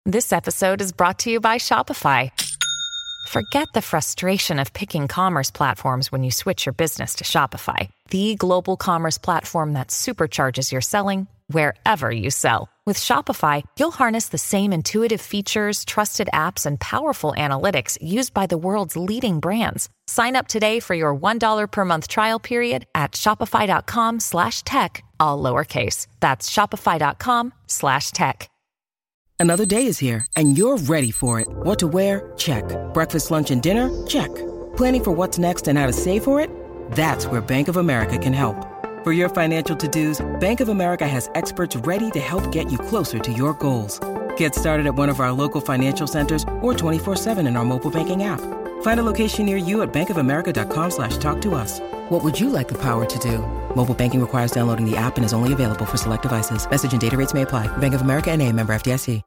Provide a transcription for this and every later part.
This episode is brought to you by Shopify. Forget the frustration of picking commerce platforms when you switch your business to Shopify, the global commerce platform that supercharges your selling wherever you sell. With Shopify, you'll harness the same intuitive features, trusted apps, and powerful analytics used by the world's leading brands. Sign up today for your $1 per month trial period at shopify.com/tech, all lowercase. That's shopify.com/tech. Another day is here, and you're ready for it. What to wear? Check. Breakfast, lunch, and dinner? Check. Planning for what's next and how to save for it? That's where Bank of America can help. For your financial to-dos, Bank of America has experts ready to help get you closer to your goals. Get started at one of our local financial centers or 24/7 in our mobile banking app. Find a location near you at bankofamerica.com/talktous. What would you like the power to do? Mobile banking requires downloading the app and is only available for select devices. Message and data rates may apply. Bank of America N.A., member FDIC.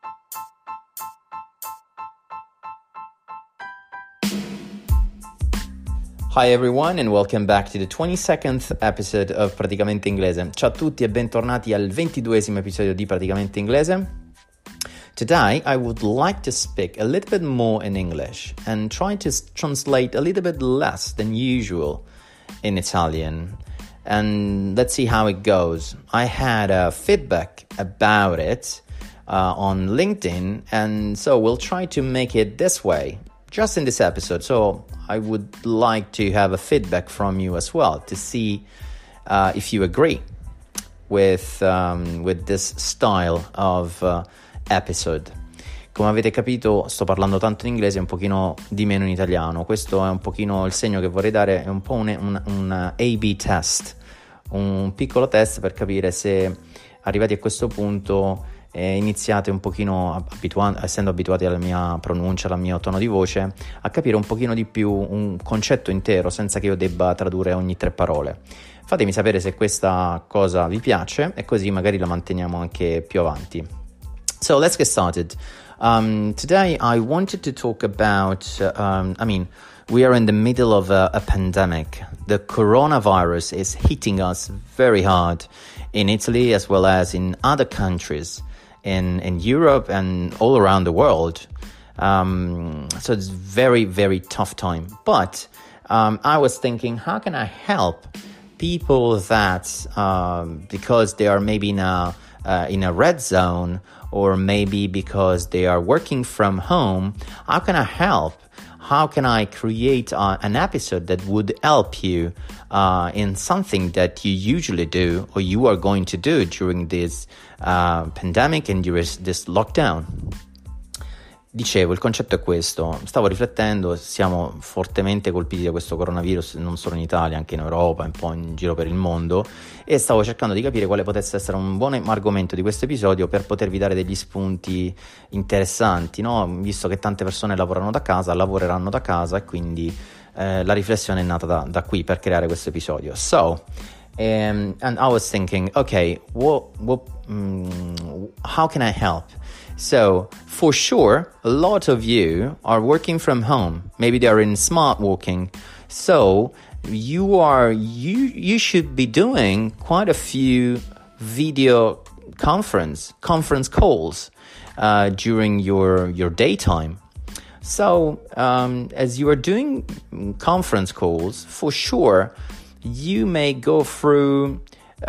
Hi everyone and welcome back to the 22nd episode of Praticamente Inglese. Ciao a tutti e bentornati al 22esimo episodio di Praticamente Inglese. Today I would like to speak a little bit more in English and try to translate a little bit less than usual in Italian. And let's see how it goes. I had feedback about it on LinkedIn, and so we'll try to make it this way, just in this episode. So I would like to have a feedback from you as well to see if you agree with this style of episode. Come avete capito, sto parlando tanto in inglese e un pochino di meno in italiano. Questo è un pochino il segno che vorrei dare, è un po' un A/B test, un piccolo test per capire se arrivati a questo punto iniziate un pochino, essendo abituati alla mia pronuncia, al mio tono di voce, a capire un pochino di più un concetto intero senza che io debba tradurre ogni 3 parole. Fatemi sapere se questa cosa vi piace e così magari la manteniamo anche più avanti. So let's get started. Today I wanted to talk about, we are in the middle of a pandemic. The coronavirus is hitting us very hard in Italy as well as in other countries in Europe and all around the world. So it's very, very tough time. But I was thinking, how can I help people that, because they are maybe in a red zone, or maybe because they are working from home, how can I help? How can I create an episode that would help you in something that you usually do or you are going to do during this pandemic and during this lockdown? Dicevo, il concetto è questo. Stavo riflettendo, siamo fortemente colpiti da questo coronavirus non solo in Italia, anche in Europa, un po' in giro per il mondo, e stavo cercando di capire quale potesse essere un buon argomento di questo episodio per potervi dare degli spunti interessanti, no? Visto che tante persone lavoreranno da casa e quindi la riflessione è nata da qui per creare questo episodio. So, and I was thinking, okay, how can I help? So, for sure, a lot of you are working from home. Maybe they are in smart working. So, you should be doing quite a few video conference calls during your daytime. So, as you are doing conference calls, for sure, you may go through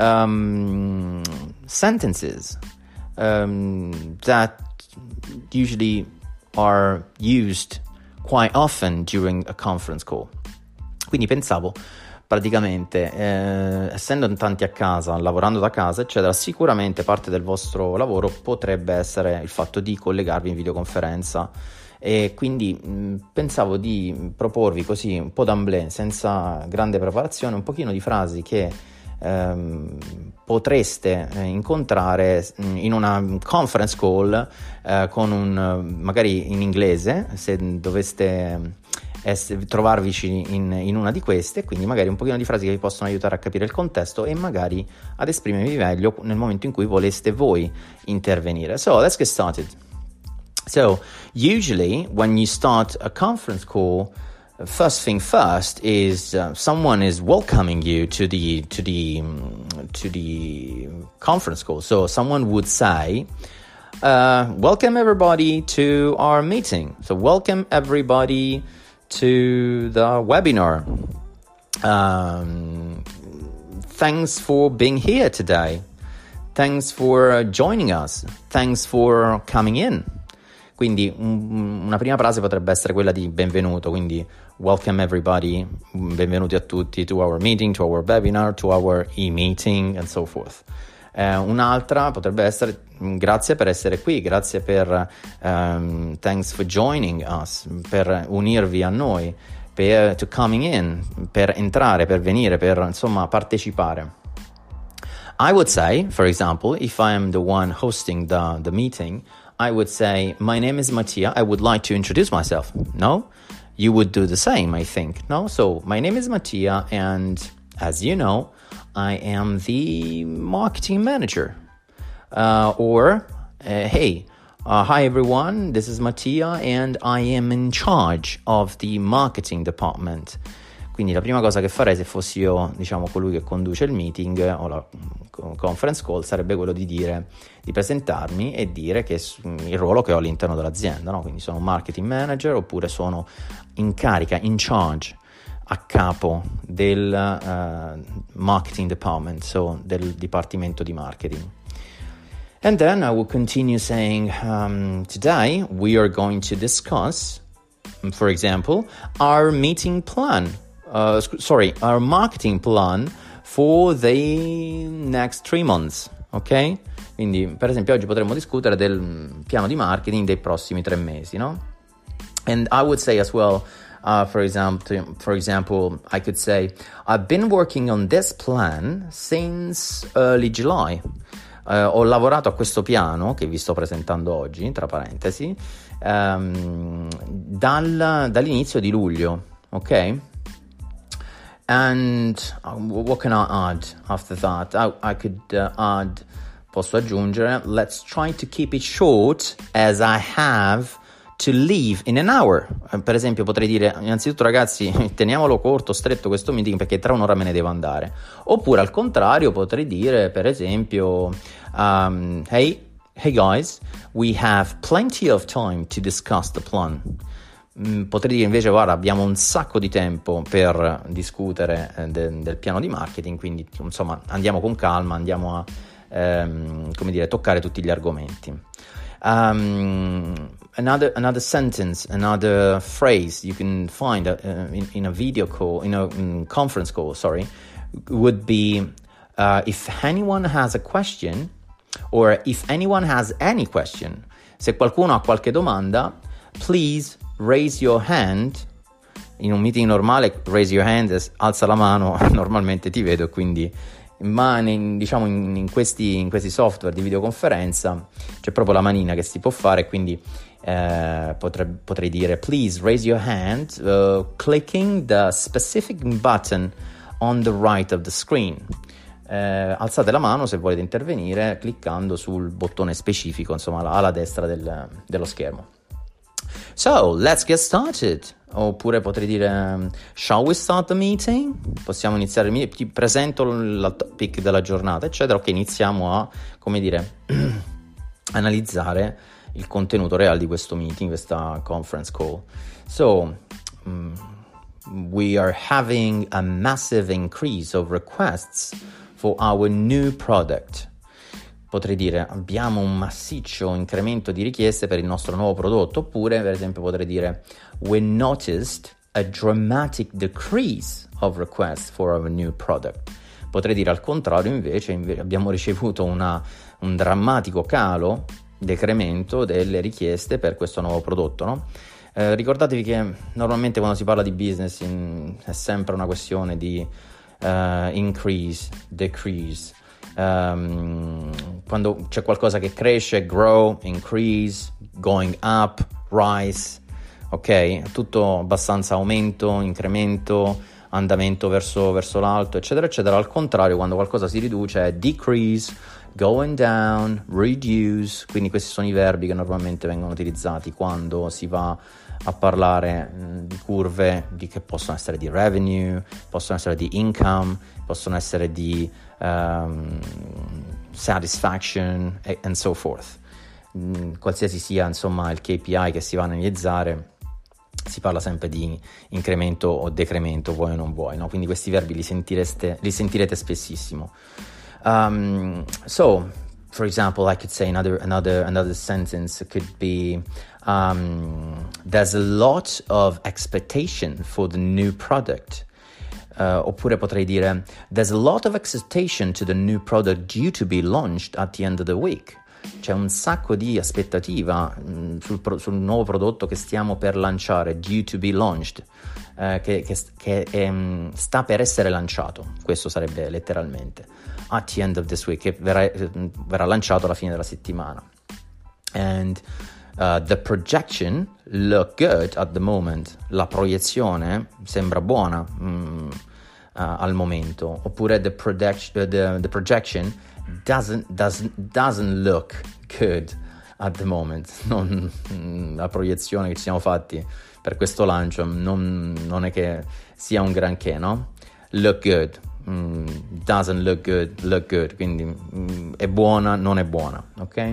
sentences that usually are used quite often during a conference call. Quindi pensavo, praticamente, essendo in tanti a casa, lavorando da casa, eccetera, sicuramente parte del vostro lavoro potrebbe essere il fatto di collegarvi in videoconferenza. E quindi pensavo di proporvi così un po' d'emblée, senza grande preparazione, un pochino di frasi che potreste incontrare in una conference call con magari in inglese, se doveste trovarvici in una di queste, quindi magari un pochino di frasi che vi possono aiutare a capire il contesto e magari ad esprimervi meglio nel momento in cui voleste voi intervenire. So let's get started. So usually when you start a conference call, first thing first is someone is welcoming you to the conference call. So someone would say, welcome everybody to our meeting. So welcome everybody to the webinar. Thanks for being here today. Thanks for joining us. Thanks for coming in. Quindi una prima frase potrebbe essere quella di benvenuto, quindi welcome everybody, benvenuti a tutti to our meeting, to our webinar, to our e-meeting and so forth. Un'altra potrebbe essere grazie per essere qui, grazie per thanks for joining us, per unirvi a noi, to coming in, per entrare, per venire, per insomma partecipare. I would say, for example, if I am the one hosting the meeting, I would say, my name is Mattia, I would like to introduce myself. No? You would do the same, I think. No? So, my name is Mattia, and as you know, I am the marketing manager. Hey, hi everyone, this is Mattia, and I am in charge of the marketing department. Quindi la prima cosa che farei se fossi io, diciamo, colui che conduce il meeting o la conference call sarebbe quello di presentarmi e dire che il ruolo che ho all'interno dell'azienda, no? Quindi sono marketing manager oppure sono in carica, in charge, a capo del marketing department, so del dipartimento di marketing. And then I will continue saying, today we are going to discuss, for example, our meeting plan. Our marketing plan for the next 3 months, ok? Quindi, per esempio, oggi potremmo discutere del piano di marketing dei prossimi 3 mesi, no? And I would say as well, for example, I could say, I've been working on this plan since early July. Ho lavorato a questo piano, che vi sto presentando oggi, tra parentesi, dall'inizio di luglio, ok? And what can I add after that? I could add, posso aggiungere, let's try to keep it short as I have to leave in an hour. Per esempio potrei dire, innanzitutto ragazzi, teniamolo corto, stretto questo meeting perché tra un'ora me ne devo andare. Oppure al contrario potrei dire, per esempio, hey guys, we have plenty of time to discuss the plan. Potrei dire invece, guarda, abbiamo un sacco di tempo per discutere del piano di marketing, quindi insomma andiamo con calma, andiamo a toccare tutti gli argomenti. Another sentence, another phrase you can find in a video call, in a conference call, would be if anyone has a question, or if anyone has any question. Se qualcuno ha qualche domanda, please raise your hand. In un meeting normale raise your hand, alza la mano, normalmente ti vedo, quindi in questi software di videoconferenza c'è proprio la manina che si può fare, quindi potrei dire please raise your hand clicking the specific button on the right of the screen. Alzate la mano se volete intervenire cliccando sul bottone specifico, insomma alla destra dello schermo. So, let's get started. Oppure potrei dire, shall we start the meeting? Possiamo iniziare il meeting, ti presento il topic della giornata, eccetera. Ok, iniziamo a, analizzare il contenuto reale di questo meeting, questa conference call. So, we are having a massive increase of requests for our new product. Potrei dire, abbiamo un massiccio incremento di richieste per il nostro nuovo prodotto, oppure per esempio potrei dire, we noticed a dramatic decrease of requests for our new product. Potrei dire al contrario invece abbiamo ricevuto un drammatico decremento delle richieste per questo nuovo prodotto, no? Ricordatevi che normalmente quando si parla di business è sempre una questione di increase, decrease. Quando c'è qualcosa che cresce, grow, increase, going up, rise, ok? Tutto abbastanza aumento, incremento, andamento verso l'alto, eccetera, eccetera. Al contrario, quando qualcosa si riduce è decrease, going down, reduce. Quindi questi sono i verbi che normalmente vengono utilizzati quando si va a parlare di curve che possono essere di revenue, possono essere di income, possono essere di satisfaction and so forth. qualsiasi sia insomma il KPI che si va a analizzare, si parla sempre di incremento o decremento, vuoi o non vuoi, no? Quindi questi verbi li sentirete spessissimo. So for example, I could say another sentence could be there's a lot of expectation for the new product. Oppure potrei dire there's a lot of expectation to the new product due to be launched at the end of the week. C'è un sacco di aspettativa sul nuovo prodotto che stiamo per lanciare, due to be launched, che sta per essere lanciato. Questo sarebbe letteralmente at the end of this week, che verrà lanciato alla fine della settimana. And the projection look good at the moment. La proiezione sembra buona al momento. Oppure the projection doesn't look good at the moment. La proiezione che ci siamo fatti per questo lancio non è che sia un granché, no? Look good, doesn't look good, quindi è buona, non è buona, ok?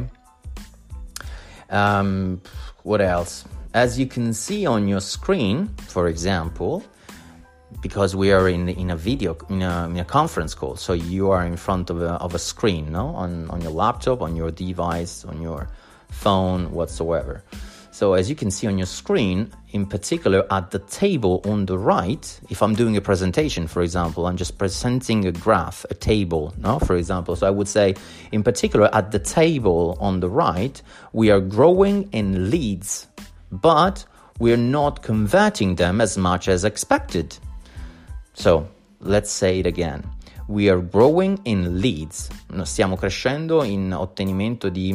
What else? As you can see on your screen, for example, because we are in a video, in a conference call, so you are in front of a screen, no? On your laptop, on your device, on your phone, whatsoever. So as you can see on your screen, in particular at the table on the right, if I'm doing a presentation, for example, I'm just presenting a graph, a table, no? For example, so I would say, in particular at the table on the right, we are growing in leads, but we're not converting them as much as expected. So, let's say it again. We are growing in leads. Stiamo crescendo in ottenimento di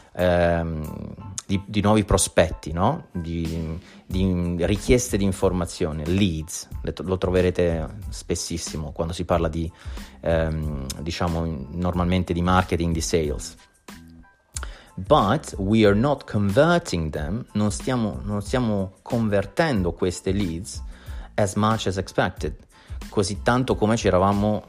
nuovi prospetti, no? Di richieste di informazione, leads. Lo troverete spessissimo quando si parla di, diciamo, normalmente di marketing, di sales. But we are not converting them, non stiamo convertendo queste leads as much as expected, così tanto come ci eravamo,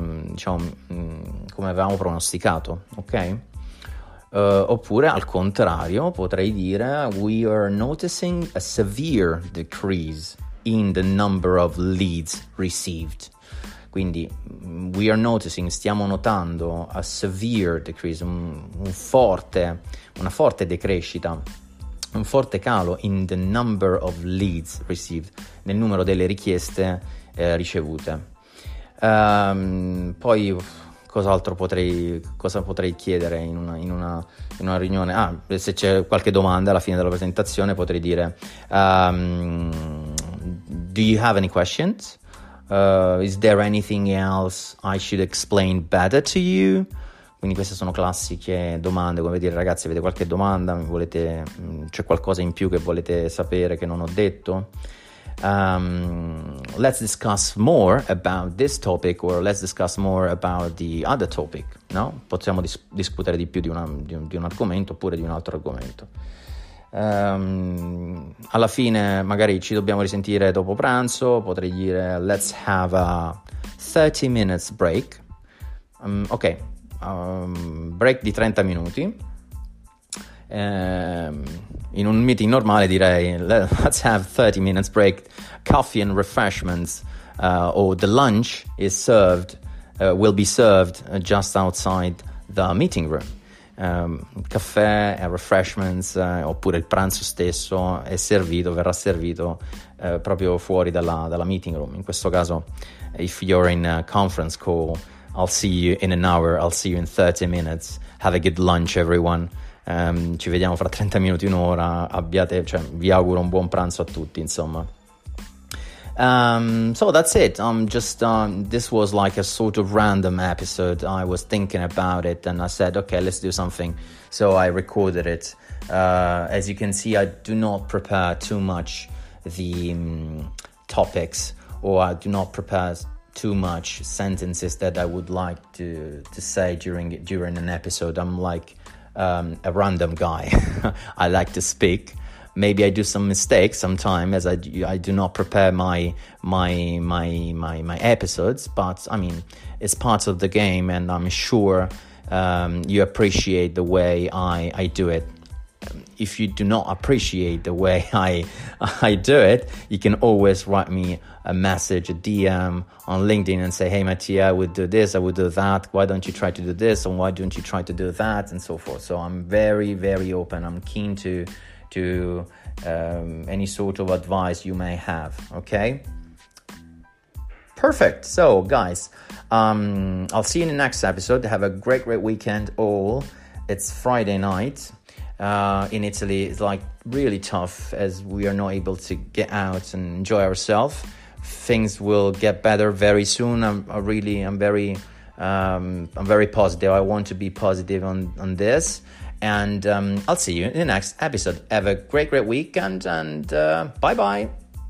come avevamo pronosticato, ok? Oppure al contrario potrei dire we are noticing a severe decrease in the number of leads received. Quindi we are noticing, stiamo notando a severe decrease, una forte decrescita, un forte calo in the number of leads received, nel numero delle richieste ricevute. Poi cosa potrei chiedere in una riunione? Se c'è qualche domanda alla fine della presentazione potrei dire do you have any questions? Is there anything else I should explain better to you? Quindi queste sono classiche domande, come dire ragazzi, avete qualche domanda? C'è qualcosa in più che volete sapere che non ho detto? Let's discuss more about this topic, or let's discuss more about the other topic, no? Possiamo discutere di più di un argomento oppure di un altro argomento. Alla fine magari ci dobbiamo risentire dopo pranzo, potrei dire let's have a 30 minutes break. Break di 30 minuti. In un meeting normale direi let's have 30 minutes break, coffee and refreshments, or the lunch will be served just outside the meeting room. Caffè e refreshments, oppure il pranzo stesso verrà servito proprio fuori dalla meeting room. In questo caso, if you're in a conference call, I'll see you in an hour, I'll see you in 30 minutes, have a good lunch everyone. Ci vediamo fra 30 minuti, un'ora, vi auguro un buon pranzo a tutti, insomma. So that's it. This was like a sort of random episode. I was thinking about it and I said, okay, let's do something. So I recorded it. As you can see, I do not prepare too much the topics, or I do not prepare too much sentences that I would like to say during an episode. I'm like a random guy. I like to speak. Maybe I do some mistakes sometimes, as I do not prepare my episodes, but I mean it's part of the game, and I'm sure you appreciate the way I do it. if you do not appreciate the way I do it, you can always write me a message, a DM on LinkedIn and say, hey, Mattia, I would do this, I would do that. Why don't you try to do this? And why don't you try to do that? And so forth. So I'm very, very open. I'm keen to any sort of advice you may have. Okay? Perfect. So, guys, I'll see you in the next episode. Have a great weekend all. It's Friday night. In Italy, it's like really tough as we are not able to get out and enjoy ourselves. Things will get better very soon. I'm very positive. I want to be positive on this. And I'll see you in the next episode. Have a great weekend and bye-bye.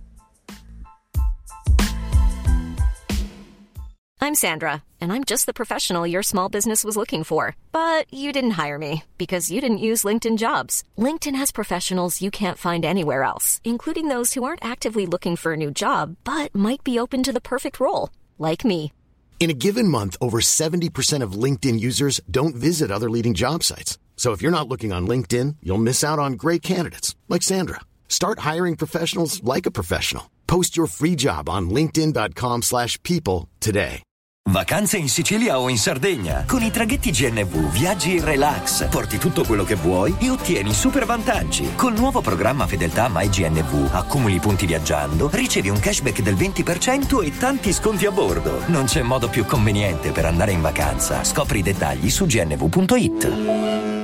I'm Sandra, and I'm just the professional your small business was looking for. But you didn't hire me because you didn't use LinkedIn Jobs. LinkedIn has professionals you can't find anywhere else, including those who aren't actively looking for a new job, but might be open to the perfect role, like me. In a given month, over 70% of LinkedIn users don't visit other leading job sites. So if you're not looking on LinkedIn, you'll miss out on great candidates, like Sandra. Start hiring professionals like a professional. Post your free job on linkedin.com/people today. Vacanze in Sicilia o in Sardegna. Con i traghetti GNV viaggi in relax, porti tutto quello che vuoi e ottieni super vantaggi. Col nuovo programma Fedeltà MyGNV accumuli punti viaggiando, ricevi un cashback del 20% e tanti sconti a bordo. Non c'è modo più conveniente per andare in vacanza. Scopri i dettagli su gnv.it.